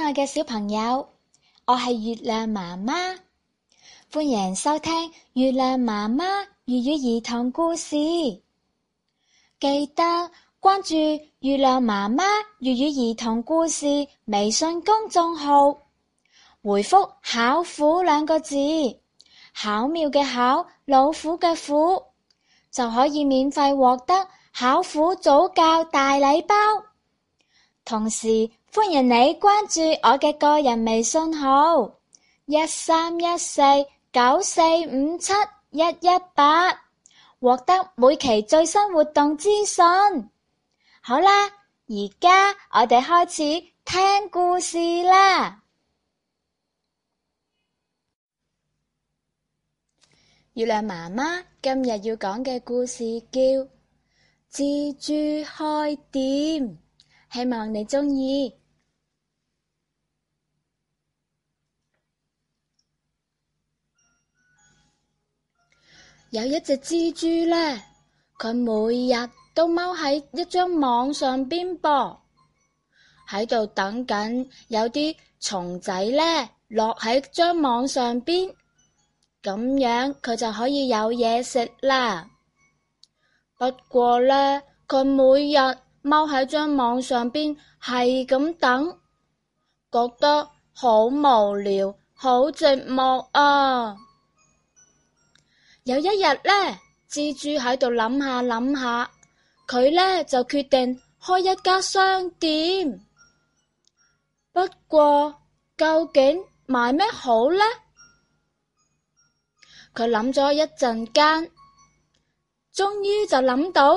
愛嘅小朋友，我係月亮媽媽，歡迎收聽月亮媽媽粵語兒童故事。記得關注月亮媽媽粵語兒童故事微信公眾號，回覆巧虎兩個字，巧妙嘅巧，老虎嘅虎，就可以免費獲得巧虎早教大禮包。同時歡迎你關注我嘅個人微信號131494571181，獲得每期最新活動資訊。好啦，而家我哋開始聽故事啦。月亮媽媽今日要講嘅故事叫蜘蛛開店，希望你鍾意。有一隻蜘蛛呢，佢每日都踎喺一張網上邊噃，喺度等緊有啲蟲仔呢落喺張網上邊，咁樣佢就可以有嘢食啦。不過呢，佢每日踎喺張網上邊係咁等，覺得好無聊，好寂寞啊！有一日呢，蜘蛛喺度諗下諗下，佢呢就決定開一家商店。不過究竟賣咩好呢？佢諗咗一陣間，終於就諗到，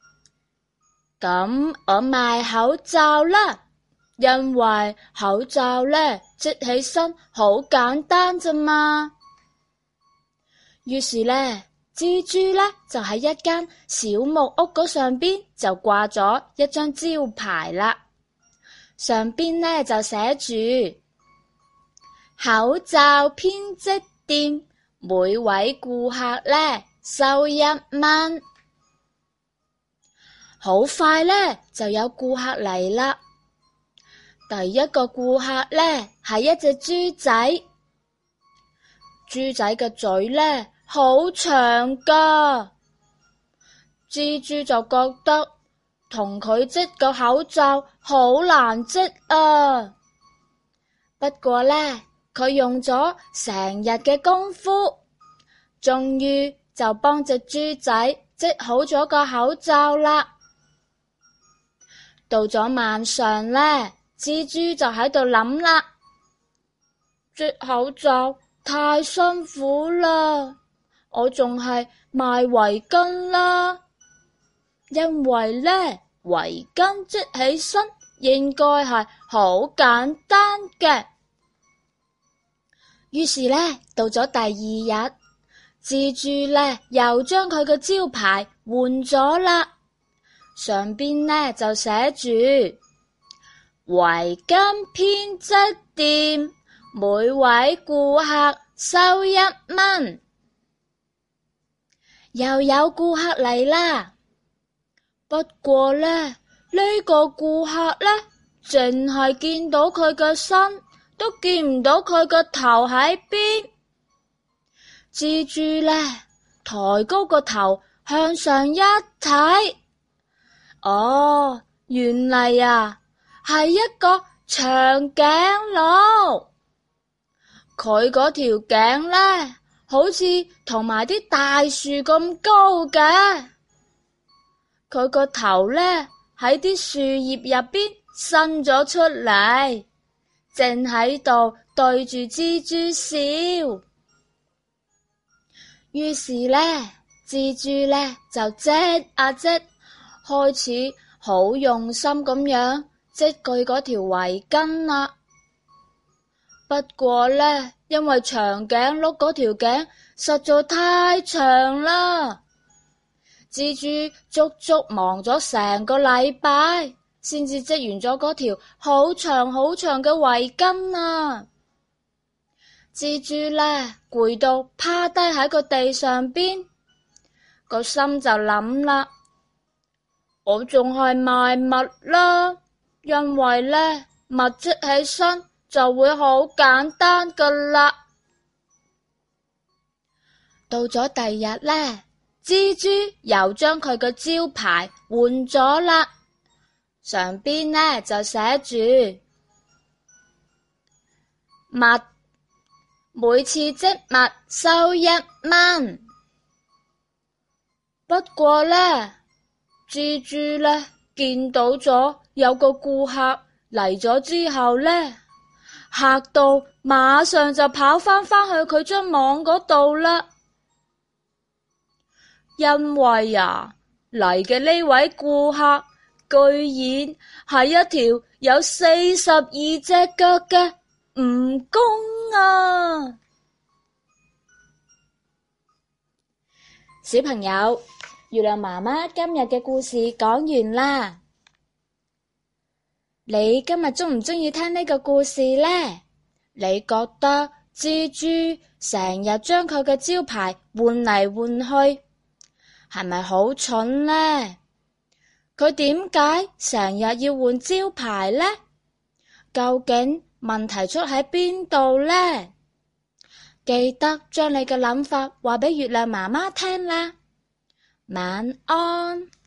咁我賣口罩啦，因為口罩呢織起身好簡單咋嘛。於是呢，蜘蛛呢就喺一間小木屋嗰上邊就掛咗一張招牌啦，上邊呢就寫住口罩編織店，每位顧客呢收1蚊。好快呢就有顧客嚟啦。第一個顧客呢係一隻豬仔，豬仔嘅嘴呢好長㗎，蜘蛛就覺得同佢織個口罩好難織啊。不過呢，佢用咗成日嘅功夫，終於就幫隻豬仔織好咗個口罩啦。到咗晚上呢，蜘蛛就喺度諗啦，織口罩太辛苦啦，我仲係賣圍巾啦，因為呢圍巾織起身應該係好簡單嘅。於是呢，到咗第二日，蜘蛛呢又將佢嘅招牌換咗啦，上邊呢就寫住圍巾編織店，每位顧客收1蚊。又有顧客嚟啦，不過呢個顧客呢，淨係見到佢嘅身，都見唔到佢個頭喺邊。蜘蛛呢抬高個頭向上一睇，哦，原嚟啊係一個長頸鹿，佢嗰條頸呢好似同埋啲大樹咁高嘅，佢個頭呢喺啲樹葉入邊伸咗出嚟，正喺度對住蜘蛛笑。於是呢，蜘蛛呢就織啊織，開始好用心咁樣織佢嗰條圍巾啦。不過呢，因為長頸鹿嗰條頸實在太長啦，蜘蛛足足忙咗成個禮拜，先至織完咗嗰條好長好長嘅圍巾啊！蜘蛛呢攰到趴低喺個地上邊，個心就諗啦，我仲係賣襪啦，因為呢襪織起身就會好簡單噶啦。到咗第二日呢，蜘蛛又將佢嘅招牌換咗啦，上邊呢就寫住蜜，每次織蜜收1蚊。不過呢，蜘蛛呢見到咗有個顧客嚟咗之後呢，嚇到馬上就跑返去佢張網嗰度啦。因為嚟嘅呢位顧客居然係一條有42隻腳嘅蜈蚣啊！小朋友，月亮媽媽今日嘅故事講完啦。你今日鍾唔鍾意聽呢個故事呢？你覺得蜘蛛成日將佢嘅招牌換嚟換去，係咪好蠢呢？佢點解成日要換招牌呢？究竟問題出喺邊度呢？記得將你嘅諗法話俾月亮媽媽聽啦。晚安。